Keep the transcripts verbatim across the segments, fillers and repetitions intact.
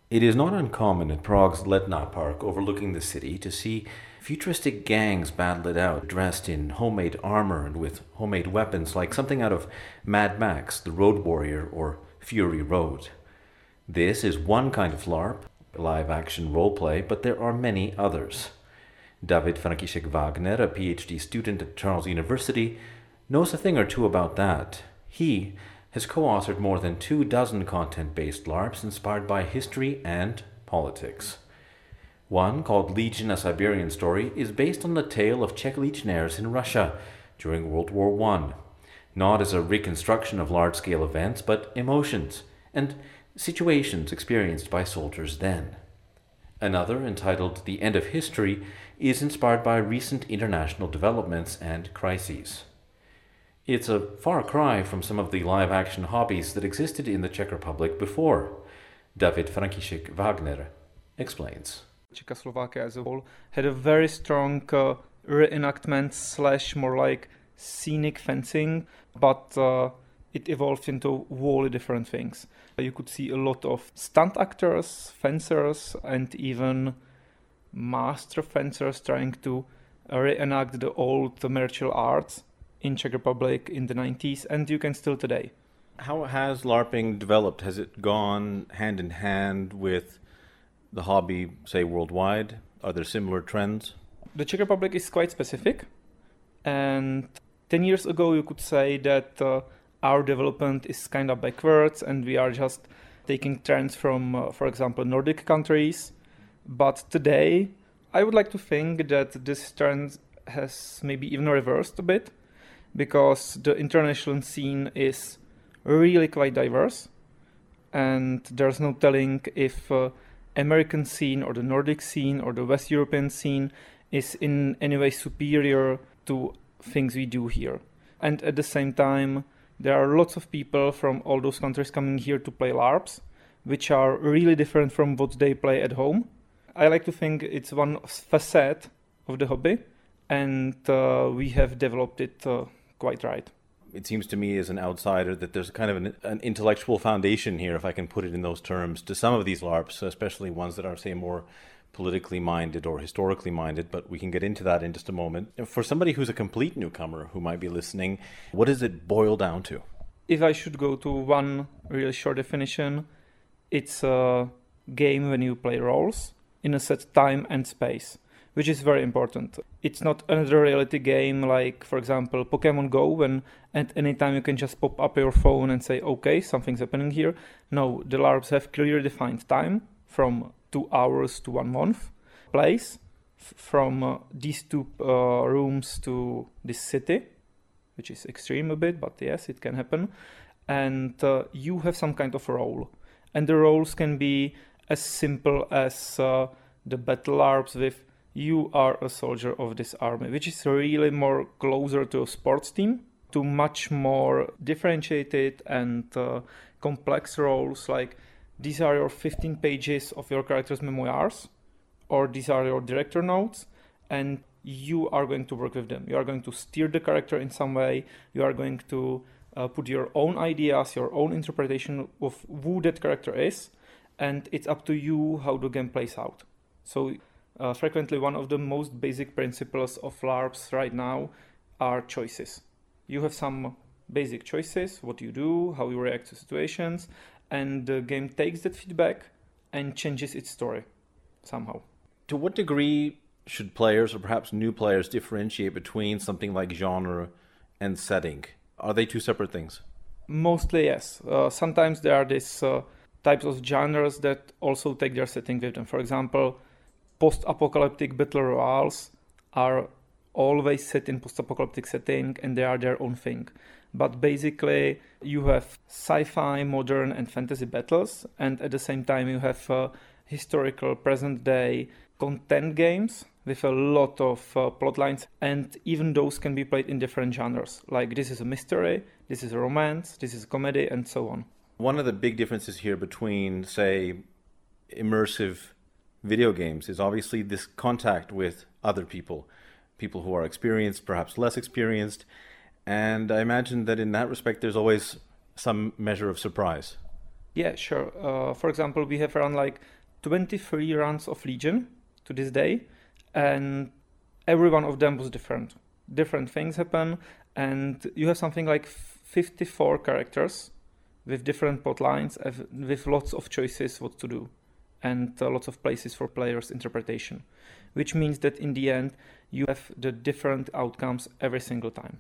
It is not uncommon at Prague's Letná Park overlooking the city to see futuristic gangs battle it out, dressed in homemade armor and with homemade weapons like something out of Mad Max, The Road Warrior, or Fury Road. This is one kind of LARP, live action roleplay, but there are many others. David František Wagner, a PhD student at Charles University, knows a thing or two about that. He has co-authored more than two dozen content-based LARPs inspired by history and politics. One, called Legion: A Siberian Story, is based on the tale of Czech legionnaires in Russia during World War One, not as a reconstruction of large-scale events, but emotions and situations experienced by soldiers then. Another, entitled The End of History, is inspired by recent international developments and crises. It's a far cry from some of the live-action hobbies that existed in the Czech Republic before. David František Wagner explains. Czechoslovakia as a whole had a very strong uh, reenactment slash more like scenic fencing, but uh, it evolved into wholly different things. You could see a lot of stunt actors, fencers, and even master fencers trying to reenact the old martial arts in Czech Republic in the nineties, and you can still today. How has LARPing developed? Has it gone hand in hand with the hobby, say, worldwide? Are there similar trends? The Czech Republic is quite specific, and ten years ago you could say that uh, our development is kind of backwards and we are just taking trends from, uh, for example, Nordic countries. But today, I would like to think that this trend has maybe even reversed a bit, because the international scene is really quite diverse, and there's no telling if uh, American scene or the Nordic scene or the West European scene is in any way superior to things we do here. And at the same time, there are lots of people from all those countries coming here to play LARPs, which are really different from what they play at home. I like to think it's one facet of the hobby, and uh, we have developed it uh, quite right. It seems to me as an outsider that there's kind of an, an intellectual foundation here, if I can put it in those terms, to some of these LARPs, especially ones that are, say, more politically minded or historically minded, but we can get into that in just a moment. For somebody who's a complete newcomer who might be listening, what does it boil down to? If I should go to one really short definition, it's a game when you play roles in a set time and space, which is very important. It's not another reality game like, for example, Pokemon Go, when at any time you can just pop up your phone and say, okay, something's happening here. No, the LARPs have clearly defined time from two hours to one month, place f- from uh, these two uh, rooms to this city, which is extreme a bit, but yes, it can happen. And uh, you have some kind of role. And the roles can be as simple as uh, the battle LARPs with you are a soldier of this army, which is really more closer to a sports team, to much more differentiated and uh, complex roles like these are your fifteen pages of your character's memoirs, or these are your director notes, and you are going to work with them. You are going to steer the character in some way. You are going to uh, put your own ideas, your own interpretation of who that character is, and it's up to you how the game plays out. So uh, frequently one of the most basic principles of LARPs right now are choices. You have some basic choices, what you do, how you react to situations, and the game takes that feedback and changes its story somehow. To what degree should players, or perhaps new players, differentiate between something like genre and setting? Are they two separate things? Mostly, yes. Uh, sometimes there are these uh, types of genres that also take their setting with them. For example, post-apocalyptic battle royales are always set in post-apocalyptic setting and they are their own thing. But basically, you have sci-fi, modern, and fantasy battles, and at the same time, you have uh, historical, present-day content games with a lot of uh, plot lines, and even those can be played in different genres. Like this is a mystery, this is a romance, this is a comedy, and so on. One of the big differences here between, say, immersive video games is obviously this contact with other people, people who are experienced, perhaps less experienced. And I imagine that in that respect, there's always some measure of surprise. Yeah, sure. Uh, for example, we have run like twenty-three runs of Legion to this day, and every one of them was different. Different things happen, and you have something like fifty-four characters with different plot lines, with lots of choices what to do, and uh, lots of places for players' interpretation, which means that in the end, you have the different outcomes every single time.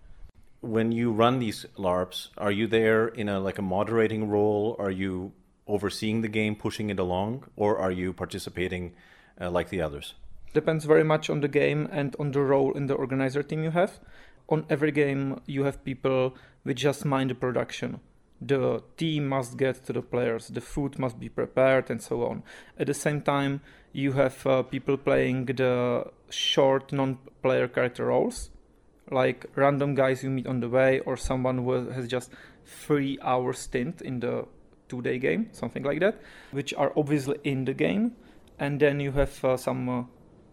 When you run these LARPs, are you there in a like a moderating role? Are you overseeing the game, pushing it along, or are you participating uh, like the others? Depends very much on the game and on the role in the organizer team you have. On every game, you have people which just mind the production. The team must get to the players, the food must be prepared, and so on. At the same time, you have uh, people playing the short non-player character roles, like random guys you meet on the way, or someone who has just three hour stint in the two-day game, something like that, which are obviously in the game. And then you have uh, some uh,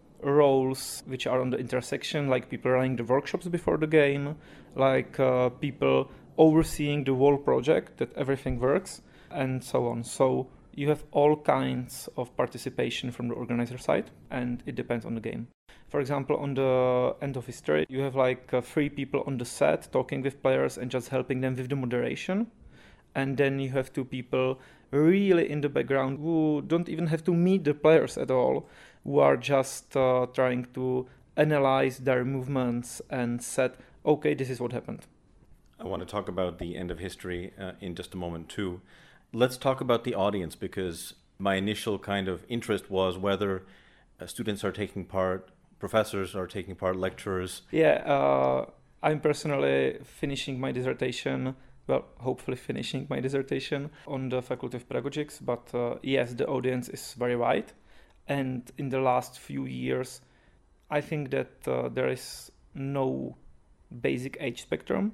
roles which are on the intersection, like people running the workshops before the game, like uh, people overseeing the whole project, that everything works, and so on. So you have all kinds of participation from the organizer side, and it depends on the game. For example, on the End of History, you have like uh, three people on the set talking with players and just helping them with the moderation. And then you have two people really in the background who don't even have to meet the players at all, who are just uh, trying to analyze their movements and set, okay, this is what happened. I want to talk about the End of History uh, in just a moment too. Let's talk about the audience, because my initial kind of interest was whether uh, students are taking part, professors are taking part, lecturers. Yeah, uh, I'm personally finishing my dissertation, well, hopefully finishing my dissertation on the Faculty of Pedagogics, but uh, yes, the audience is very wide. And in the last few years, I think that uh, there is no basic age spectrum.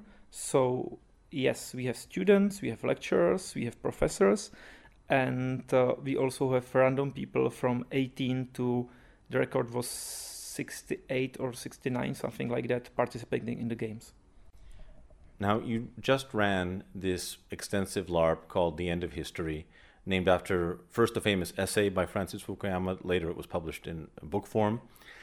So yes, we have students, we have lecturers, we have professors, and uh, we also have random people from eighteen to, the record was sixty-eight or sixty-nine, something like that, participating in the games. Now, you just ran this extensive LARP called The End of History, named after first a famous essay by Francis Fukuyama, later it was published in book form.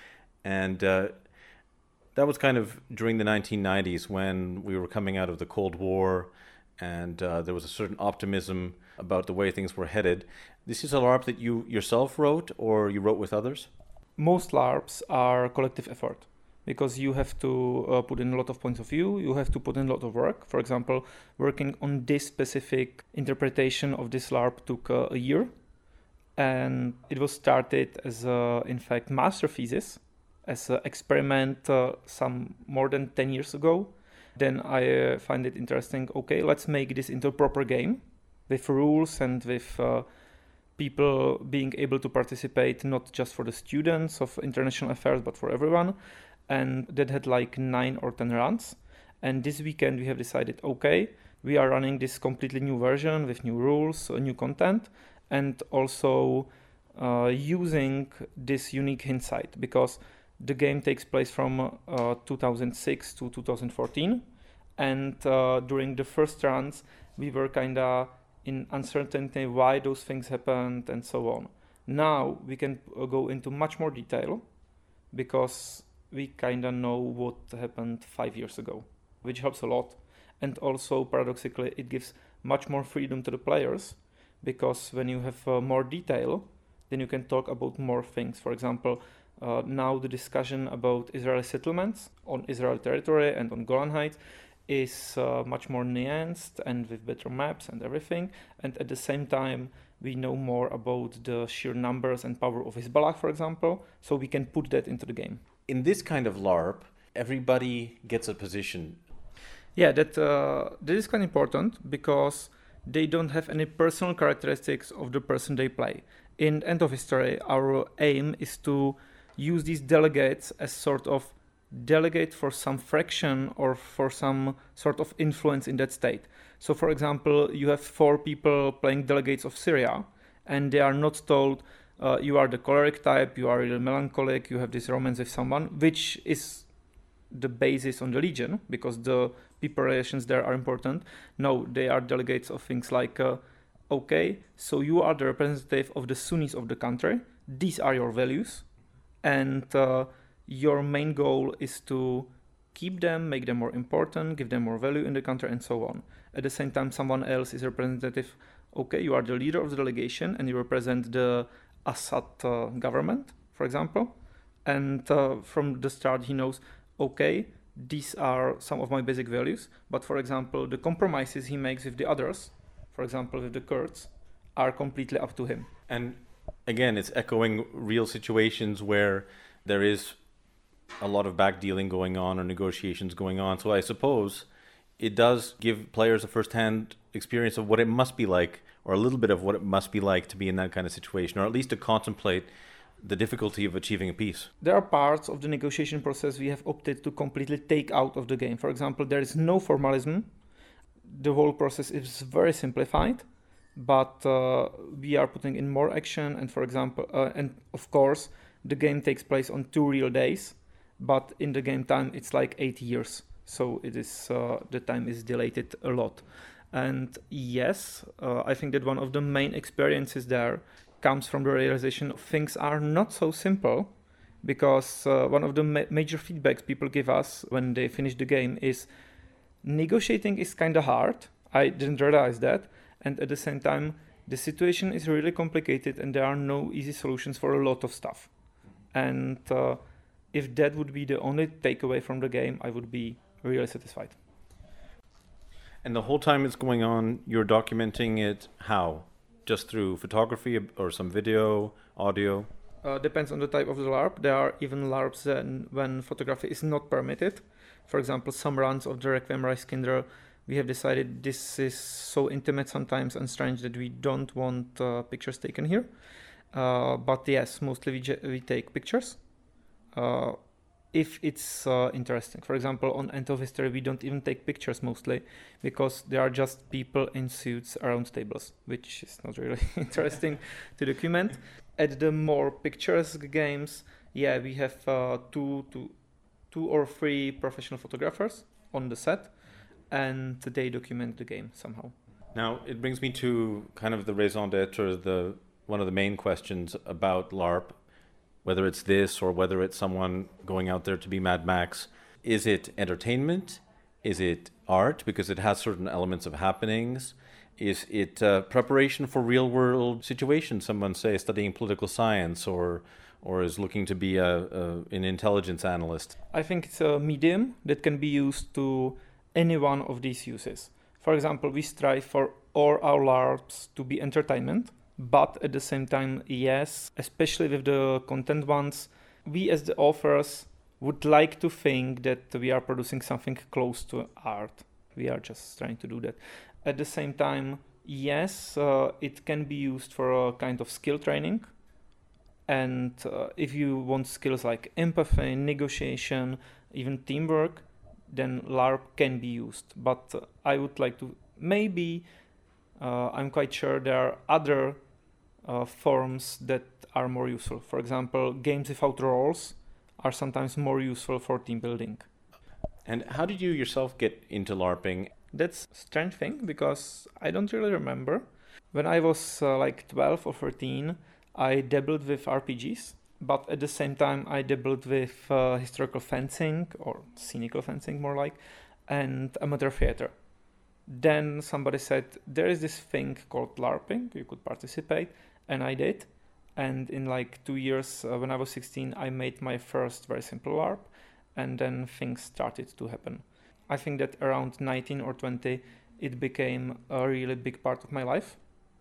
And uh, that was kind of during the nineteen nineties when we were coming out of the Cold War, and uh, there was a certain optimism about the way things were headed. This is a LARP that you yourself wrote, or you wrote with others? Most LARPs are collective effort, because you have to uh, put in a lot of points of view, you have to put in a lot of work. For example, working on this specific interpretation of this LARP took uh, a year, and it was started as, a, in fact, master thesis, as an experiment uh, some more than ten years ago. Then I uh, find it interesting, okay, let's make this into a proper game with rules and with uh, people being able to participate, not just for the students of international affairs, but for everyone. And that had like nine or ten runs. And this weekend we have decided, okay, we are running this completely new version with new rules, new content, and also uh, using this unique hindsight, because the game takes place from uh, two thousand six to two thousand fourteen. And uh, during the first runs, we were kind of in uncertainty why those things happened and so on. Now we can uh, go into much more detail, because we kind of know what happened five years ago, which helps a lot. And also, paradoxically, it gives much more freedom to the players, because when you have uh, more detail, then you can talk about more things. For example, uh, now the discussion about Israeli settlements on Israeli territory and on Golan Heights is uh, much more nuanced and with better maps and everything. And at the same time, we know more about the sheer numbers and power of Hezbollah, for example, so we can put that into the game. In this kind of LARP, everybody gets a position. Yeah, that uh, that is quite important, because they don't have any personal characteristics of the person they play. In End of History, our aim is to use these delegates as sort of delegate for some fraction or for some sort of influence in that state. So, for example, you have four people playing delegates of Syria, and they are not told, uh, you are the choleric type, you are really melancholic, you have this romance with someone, which is the basis on the Legion, because the people relations there are important. No, they are delegates of things like uh, okay, so you are the representative of the Sunnis of the country. These are your values. And uh, your main goal is to keep them, make them more important, give them more value in the country, and so on. At the same time, someone else is representative. Okay, you are the leader of the delegation, and you represent the Assad uh, government, for example. And uh, from the start, he knows, okay, these are some of my basic values. But for example, the compromises he makes with the others, for example, with the Kurds, are completely up to him. And again, it's echoing real situations where there is a lot of back dealing going on or negotiations going on. So I suppose it does give players a first-hand experience of what it must be like, or a little bit of what it must be like to be in that kind of situation, or at least to contemplate the difficulty of achieving a peace. There are parts of the negotiation process we have opted to completely take out of the game. For example, there is no formalism. The whole process is very simplified, but uh, we are putting in more action. And for example, uh, and of course, the game takes place on two real days, but in the game time, it's like eight years. So it is uh, the time is dilated a lot. And yes, uh, I think that one of the main experiences there comes from the realization of things are not so simple, because uh, one of the ma- major feedbacks people give us when they finish the game is negotiating is kind of hard. I didn't realize that. And at the same time, the situation is really complicated and there are no easy solutions for a lot of stuff. And uh, if that would be the only takeaway from the game, I would be really satisfied. And the whole time it's going on, you're documenting it how? Just through photography or some video, audio? Uh, depends on the type of the LARP. There are even LARPs then when photography is not permitted. For example, some runs of the Requiem Reichskinder, we have decided this is so intimate sometimes and strange that we don't want uh, pictures taken here. Uh, but yes, mostly we, j- we take pictures. Uh, if it's uh, interesting. For example, on End of History, we don't even take pictures mostly because there are just people in suits around tables, which is not really interesting to document. At the more picturesque games, yeah, we have uh, two, two, two or three professional photographers on the set, and they document the game somehow. Now, it brings me to kind of the raison d'etre, the one of the main questions about LARP. Whether it's this or whether it's someone going out there to be Mad Max. Is it entertainment? Is it art because it has certain elements of happenings? Is it uh, preparation for real world situations? Someone, say, studying political science or or is looking to be a, a an intelligence analyst? I think it's a medium that can be used to any one of these uses. For example, we strive for all our LARPs to be entertainment. But at the same time, yes, especially with the content ones, we as the authors would like to think that we are producing something close to art. We are just trying to do that. At the same time, yes, uh, it can be used for a kind of skill training. And uh, if you want skills like empathy, negotiation, even teamwork, then LARP can be used. But uh, I would like to, maybe, uh, I'm quite sure there are other Uh, forms that are more useful. For example, games without roles are sometimes more useful for team building. And how did you yourself get into LARPing? That's a strange thing because I don't really remember. When I was uh, like twelve or thirteen, I dabbled with R P Gs, but at the same time I dabbled with uh, historical fencing or scenical fencing more like, and amateur theater. Then somebody said, there is this thing called LARPing, you could participate. And I did. And in like two years, uh, when I was sixteen, I made my first very simple LARP. And then things started to happen. I think that around nineteen or twenty, it became a really big part of my life.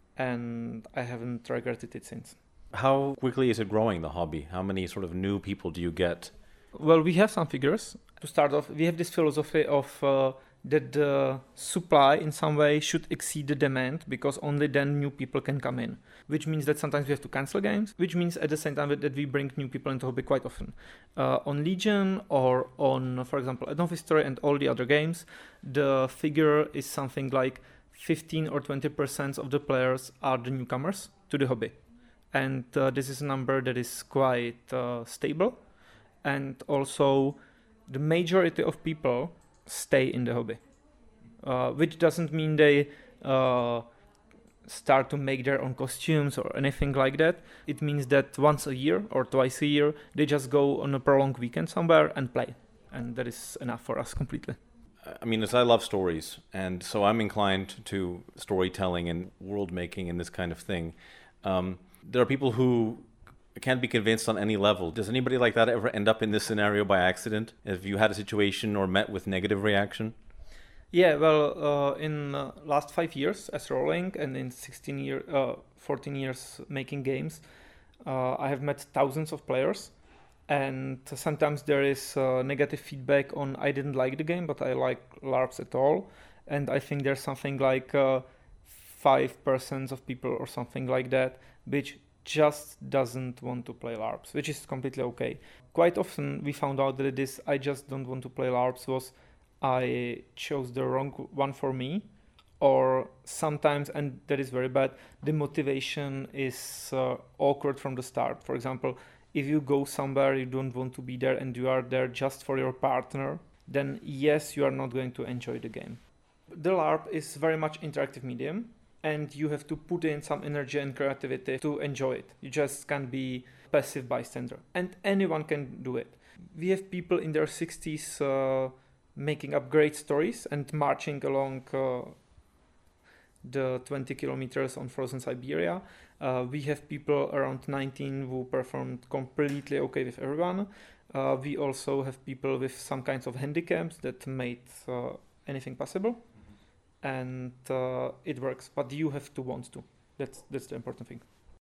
And I haven't regretted it since. How quickly is it growing, the hobby? How many sort of new people do you get? Well, we have some figures. To start off, we have this philosophy of uh, that the supply in some way should exceed the demand because only then new people can come in, which means that sometimes we have to cancel games, which means at the same time that we bring new people into hobby quite often. Uh, on Legion or on, for example, End of History and all the other games, the figure is something like fifteen or twenty percent of the players are the newcomers to the hobby. And uh, this is a number that is quite uh, stable. And also the majority of people stay in the hobby, uh, which doesn't mean they uh, start to make their own costumes or anything like that. It means that once a year or twice a year, they just go on a prolonged weekend somewhere and play. And that is enough for us completely. I mean, as I love stories, and so I'm inclined to storytelling and world making and this kind of thing. Um, there are people who can't be convinced on any level. Does anybody like that ever end up in this scenario by accident? Have you had a situation or met with negative reaction? Yeah, well, uh, in uh, last five years as rolling and in sixteen year, uh, fourteen years making games, uh, I have met thousands of players, and sometimes there is uh, negative feedback on I didn't like the game, but I like LARPs at all, and I think there's something like uh, five percent of people or something like that, which just doesn't want to play LARPs, which is completely okay. Quite often we found out that this I just don't want to play LARPs was I chose the wrong one for me, or sometimes, and that is very bad, the motivation is uh, awkward from the start. For example, if you go somewhere you don't want to be there and you are there just for your partner, then yes, you are not going to enjoy the game. The LARP is very much interactive medium, and you have to put in some energy and creativity to enjoy it. You just can't be passive bystander, and anyone can do it. We have people in their sixties uh, making up great stories and marching along uh, the twenty kilometers on frozen Siberia. Uh, we have people around nineteen who performed completely okay with everyone. Uh, we also have people with some kinds of handicaps that made uh, anything possible. Mm-hmm. And uh, it works, but you have to want to. That's that's the important thing.